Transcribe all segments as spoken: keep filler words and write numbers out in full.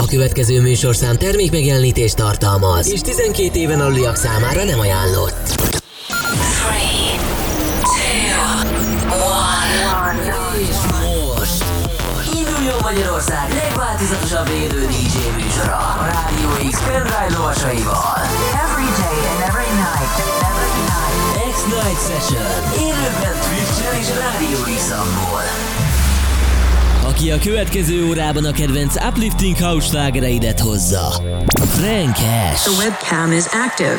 A következő műsorszám termékmegjelenítést tartalmaz, és tizenkét éven aluliak számára nem ajánlott. three, two, one. És most induljon Magyarország legváltozatosabb élő dé dzsé műsora a Rádió X pendrive lovasaival. Every day and every night, every night. X-Night Session élőben Twitch-en és Rádió X-amból. Aki a következő órában a kedvenc uplifting house slágereidet hozza. Frank Cash. The webcam is active.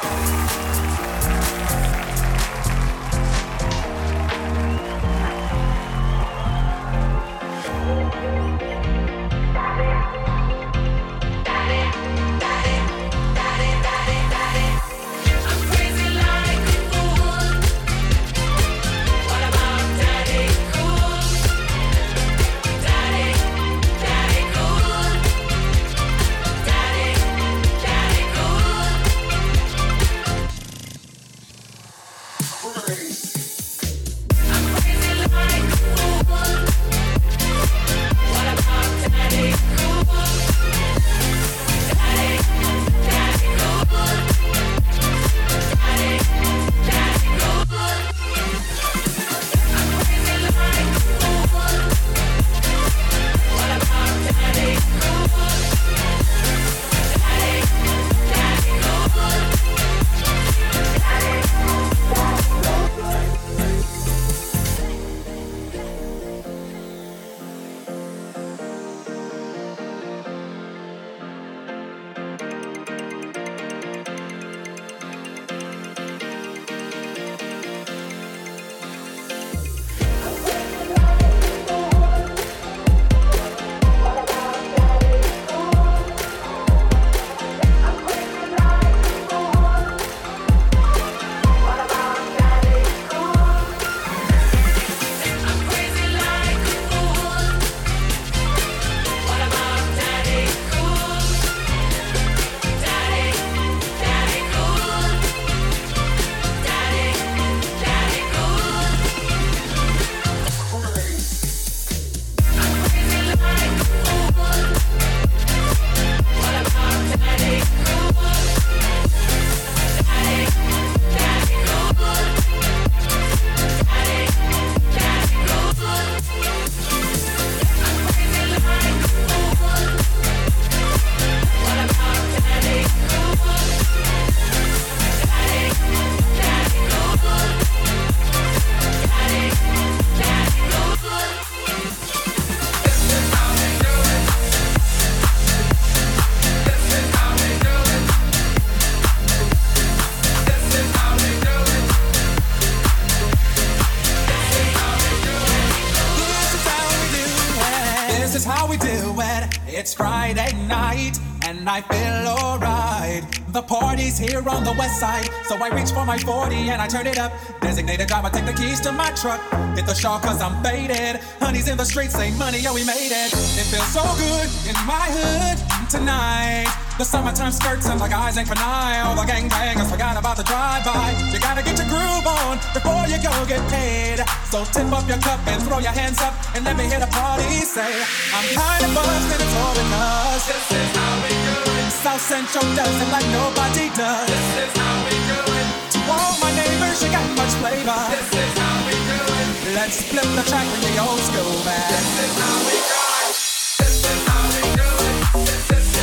I feel alright. The party's here on the west side, so I reach for my forty and I turn it up. Designated driver, take the keys to my truck. Hit the shawl cause I'm faded. Honey's in the streets, say money, yo, we made it. It feels so good in my hood tonight. The summertime skirts and the guys ain't for night. All the gangbangers forgot about the drive-by. You gotta get your groove on before you go get paid. So tip up your cup and throw your hands up and let me hear the party say, I'm kinda buzzed and it's all in us. This is how we do it. South Central does it like nobody does. This is how we do it. To all my neighbors, you got much flavor. This is how we do it. Let's flip the track with the old school man. This is how we do it. This is how we do it. This is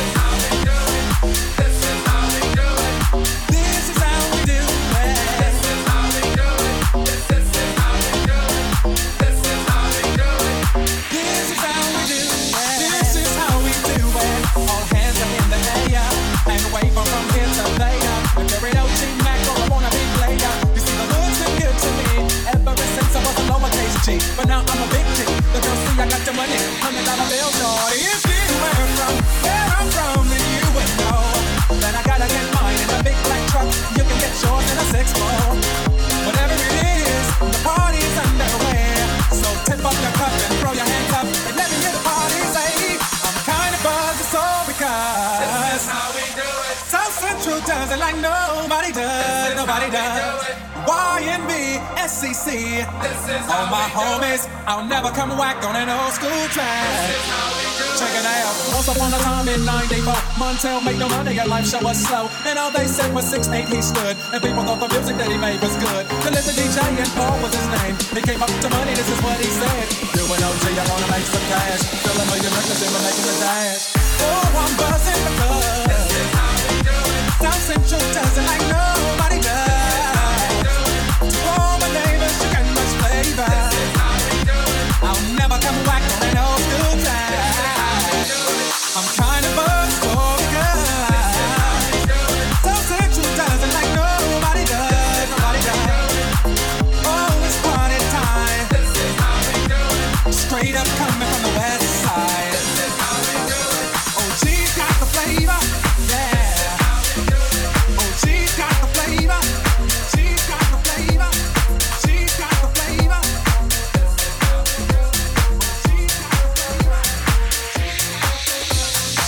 but now I'm a big G. The girls see I got the money, hundred dollar bills, shorty. If you were from where I'm from, then you would know that I gotta get mine in a big black truck. You can get yours in a six four. Whatever it is, the party's underway. So tip up your cup and throw your hands up and let me hear the party say, I'm kinda buzzed, it's all because this is how we do it. South Central does it like nobody does, nobody does. Y N B, S C C, all my homies, I'll never come whack on an old school track. This is how we do it. Check it out. Once upon a time in ninety-four, Montel made no money and life show was slow. And all they said was six eight he stood. And people thought the music that he made was good. The little D J and Paul was his name. He came up to money, this is what he said. Doing O G, I wanna make some cash. Fill a million records and we're making the dash. Oh, I'm buzzing because this is how we do it. South Central does it like nobody does. To all my neighbors, you got much flavor. This is how we do it. I'll never come back on an old school time. I'm kinda buzzed for the good. South Central does it like nobody does. Nobody does. Oh, it's party time. This is how we do it. Straight up coming from the west side. This is how we do it. O G's got the flavor. Yeah. O G's got the flavor. G's got the flavor. G's got the flavor. This is how we do it. O G's got the flavor.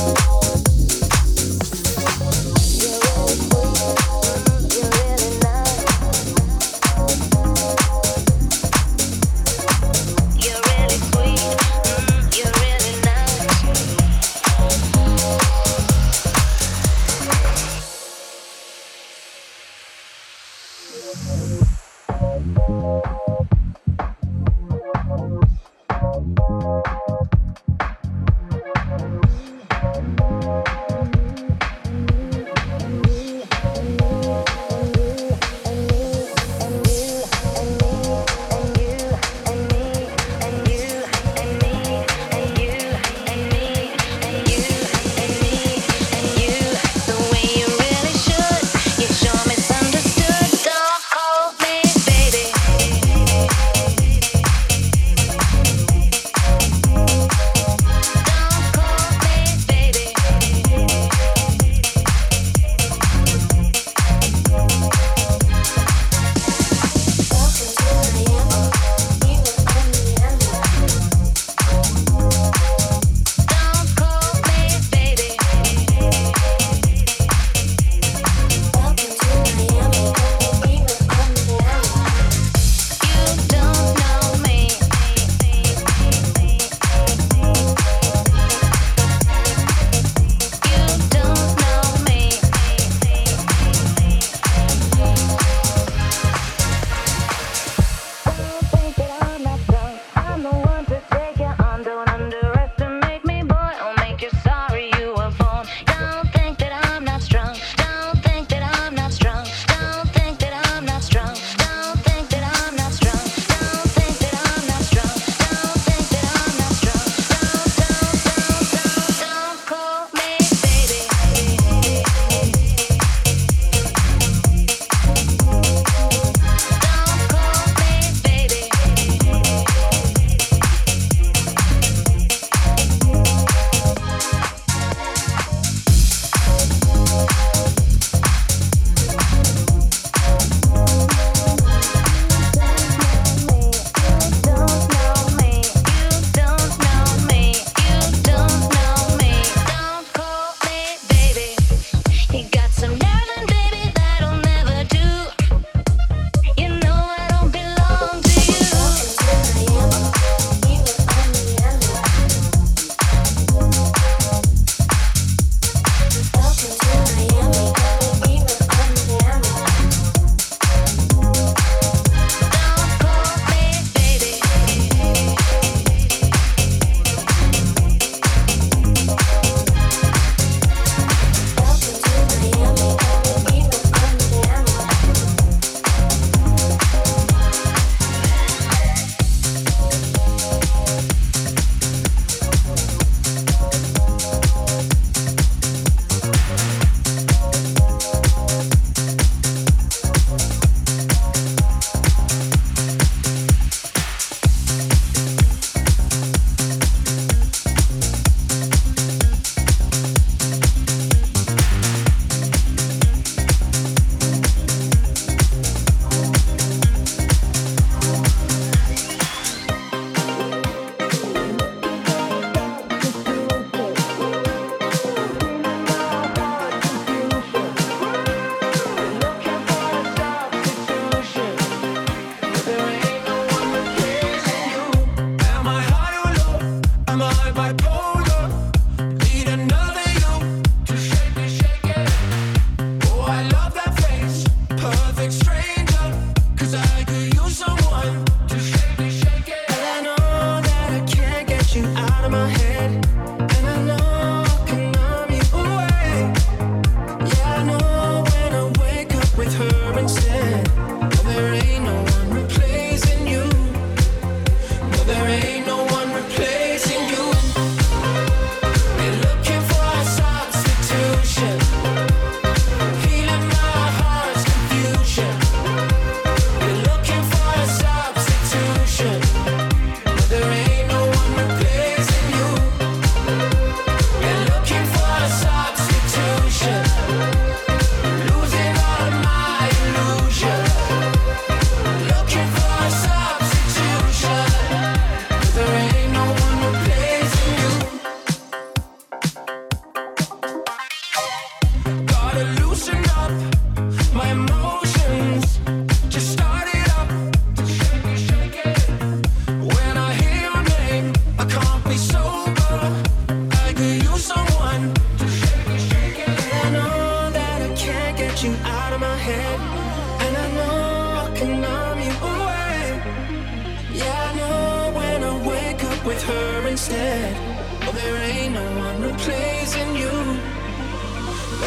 Thank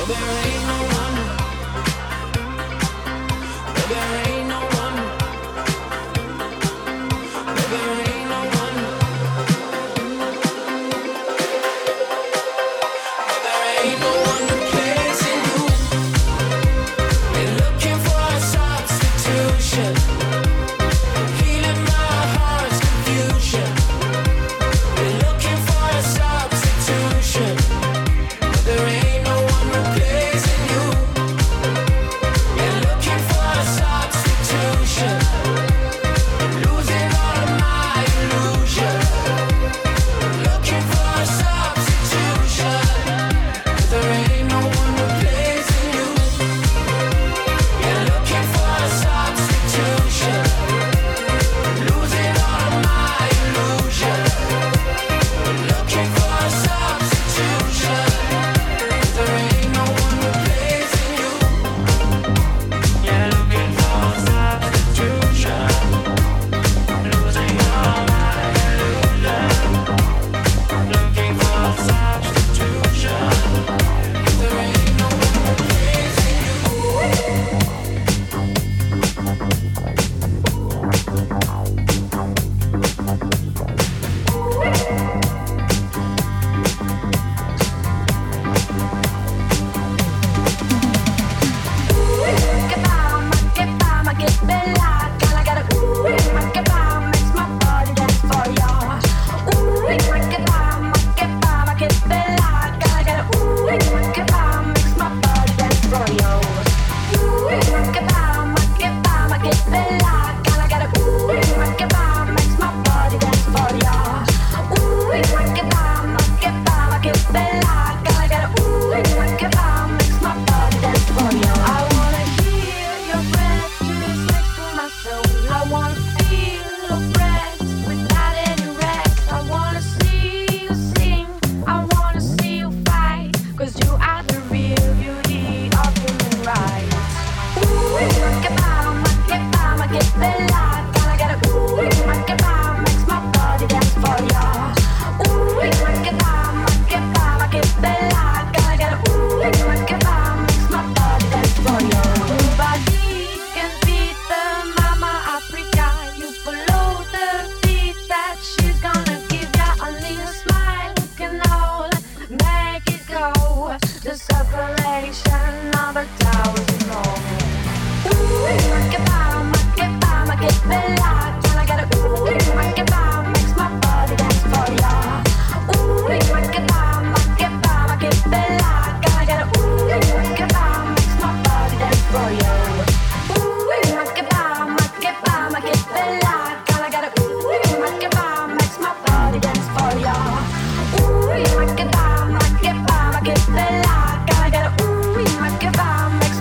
Ooh,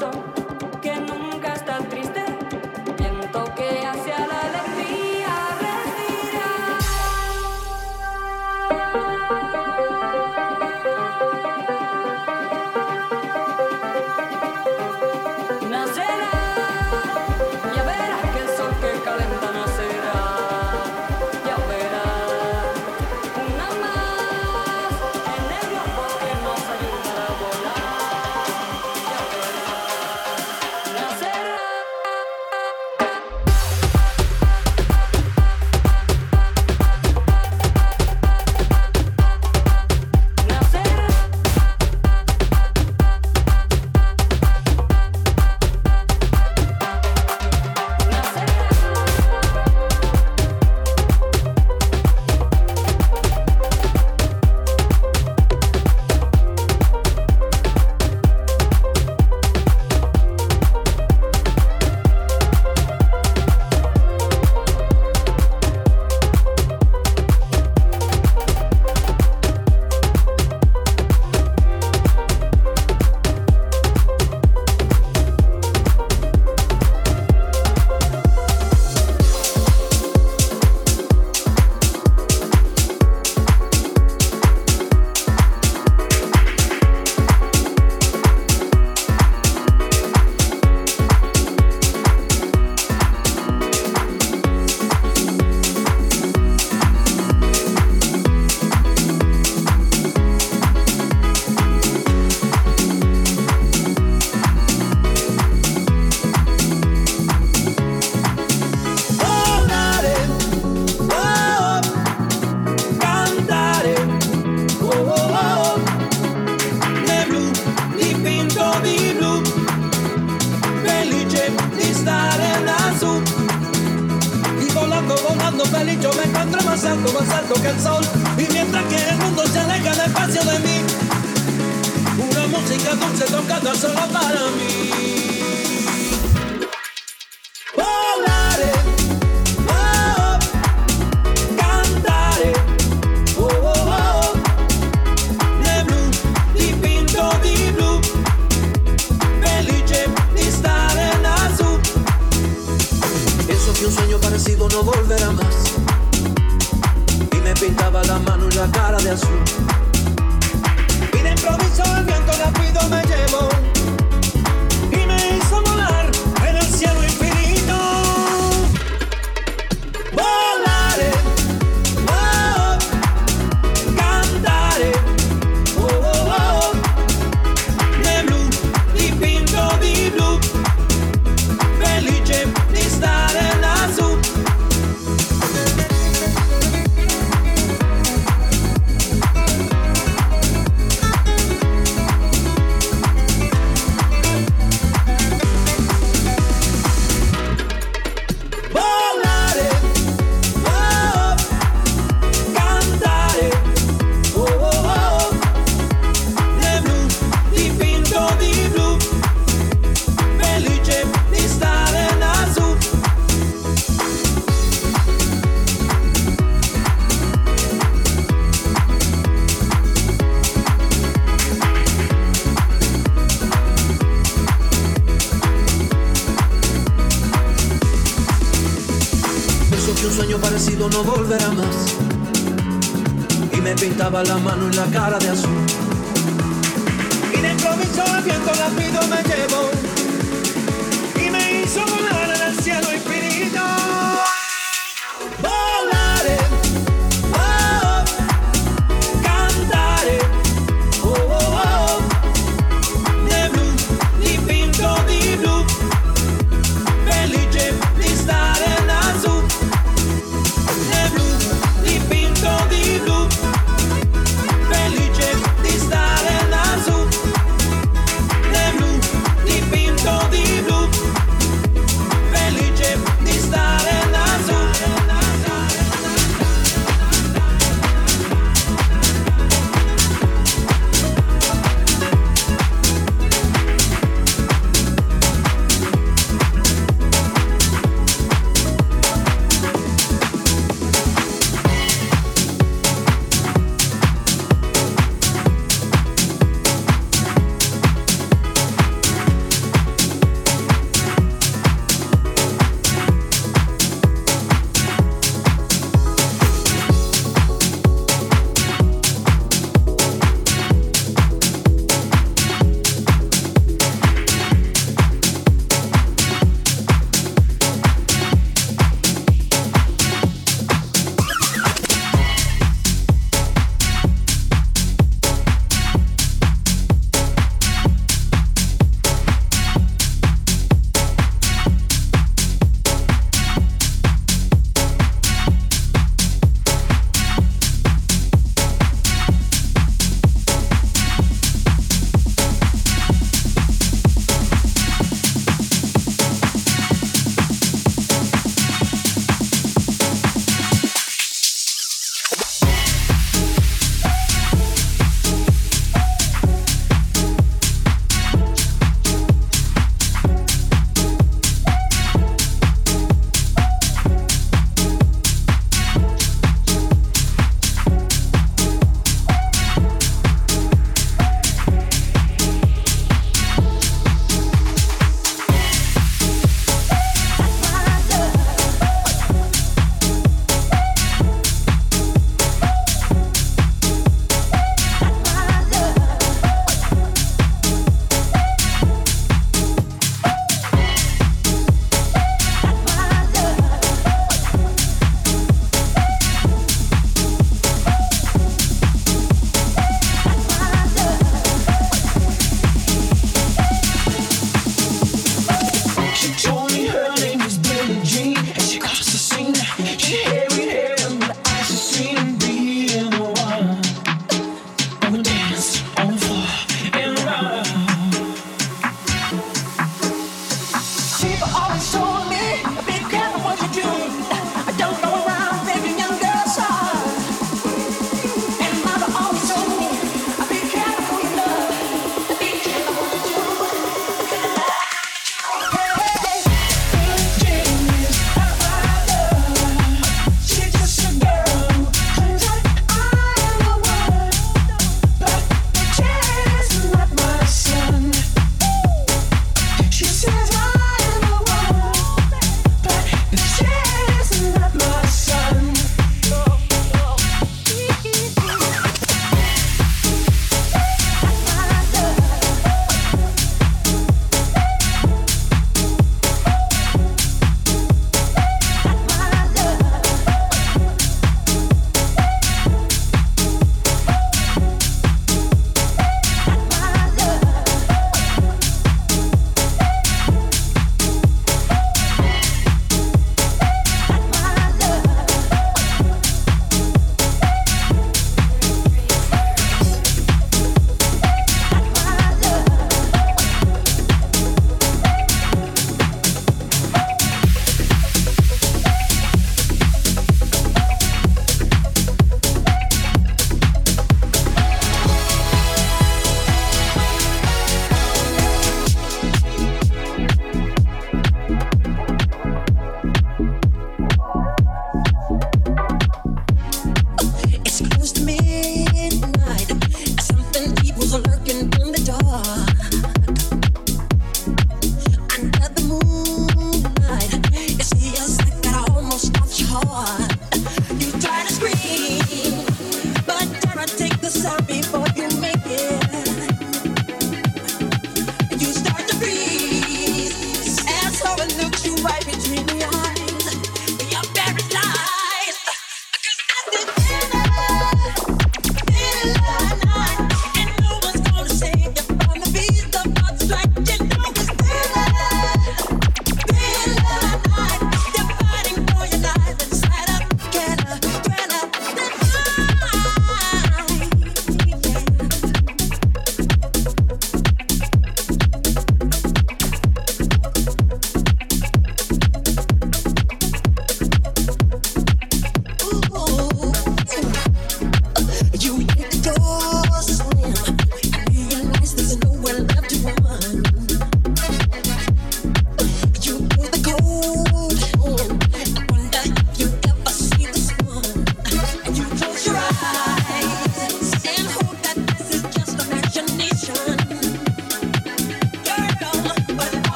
No volverá más y me pintaba la mano y la cara de azul y de improviso el viento rápido me llevó y me hizo volar en el cielo infinito. Volaré, oh, cantaré, oh, oh, oh, de blu, di pinto di blu, felice di stare in azul. Felice di stare lassù, le blu, di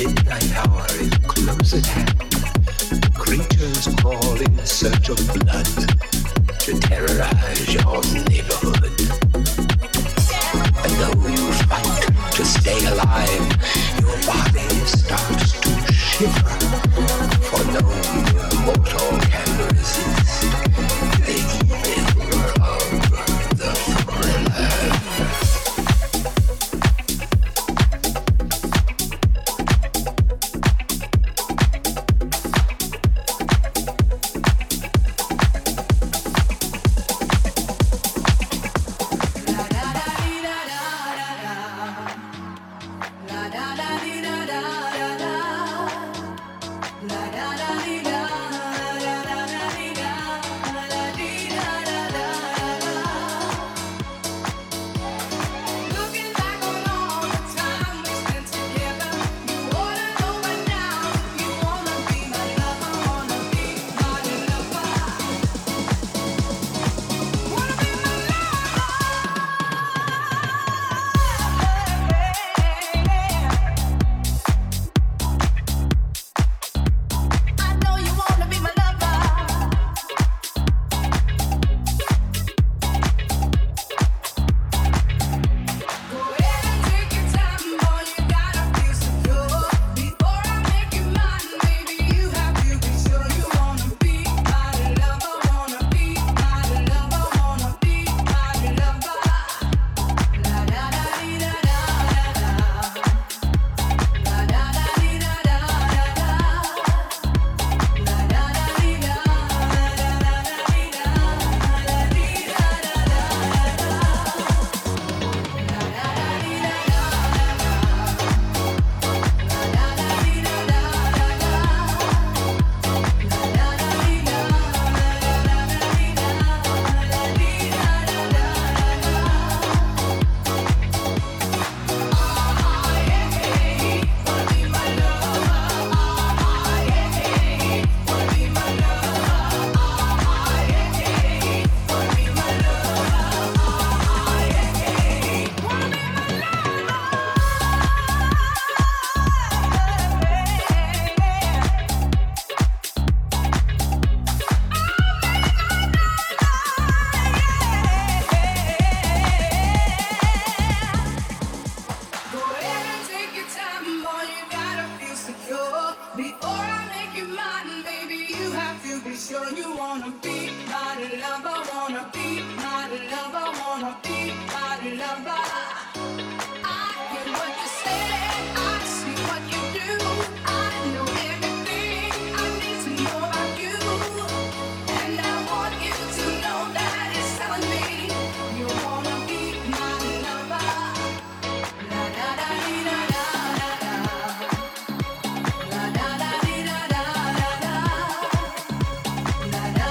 midnight hour is close at hand. Creatures crawl in search of blood to terrorize your neighborhood. And though you fight to stay alive, your body starts to shiver, for no mortal can resist the evil of the thriller. La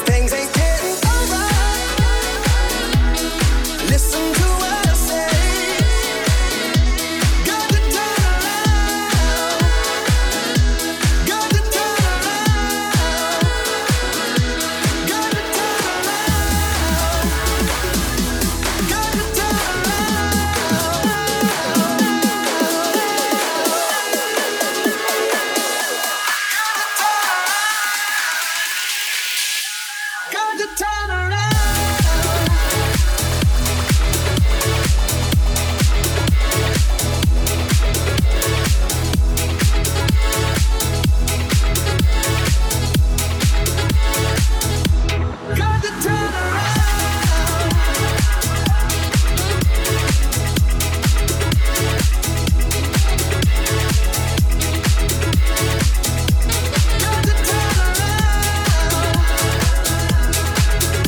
things ain't getting alright. Listen to what I say. Got to turn around. Got to turn around. Got to turn around. Got to turn Got to turn around. Got to turn around. Got to turn around.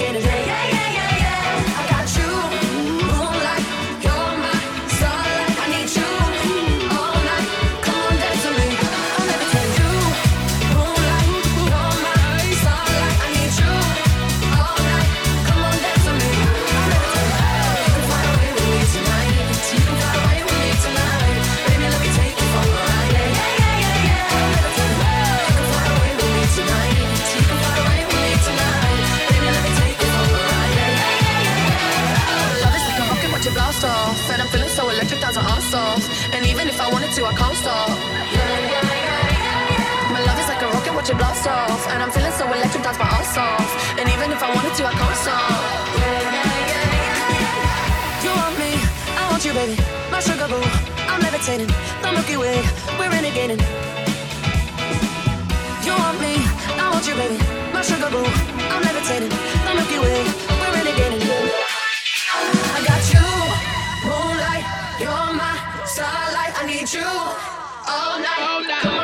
renegading. Yeah, yeah, yeah, yeah, yeah. I got you, moonlight, you're my starlight. I need you all night. Come on, dance with me. I'm levitating. You, moonlight, you're my starlight. I need you all night. Come on, dance with me. I'm levitating. You can fly away with me tonight. You can fly away with me tonight. Baby, let me take you for a ride. Yeah, yeah, yeah, yeah, yeah. I'm levitating. You can fly away with me tonight. You can fly away with me tonight. Baby, let me take you for a ride. Yeah, yeah, yeah, yeah, yeah. Love is like a rocket, watch it blast off. And I'm feeling so electric, down to arse off. And even if I wanted to, I can't stop. Yeah, yeah, yeah, yeah, yeah. My love is like a rocket, watch it blast off. And I'm feeling so electric, dance my ass off. And even if I wanted to, I can't stop. Yeah, yeah, yeah, yeah, yeah. You want me, I want you, baby. My sugar boo, I'm levitating. The Milky Way, we're renegading. You want me, I want you, baby. My sugar boo, I'm levitating. The Milky Way, we're renegading. I got you, moonlight, you're my starlight. I need you all night. All night.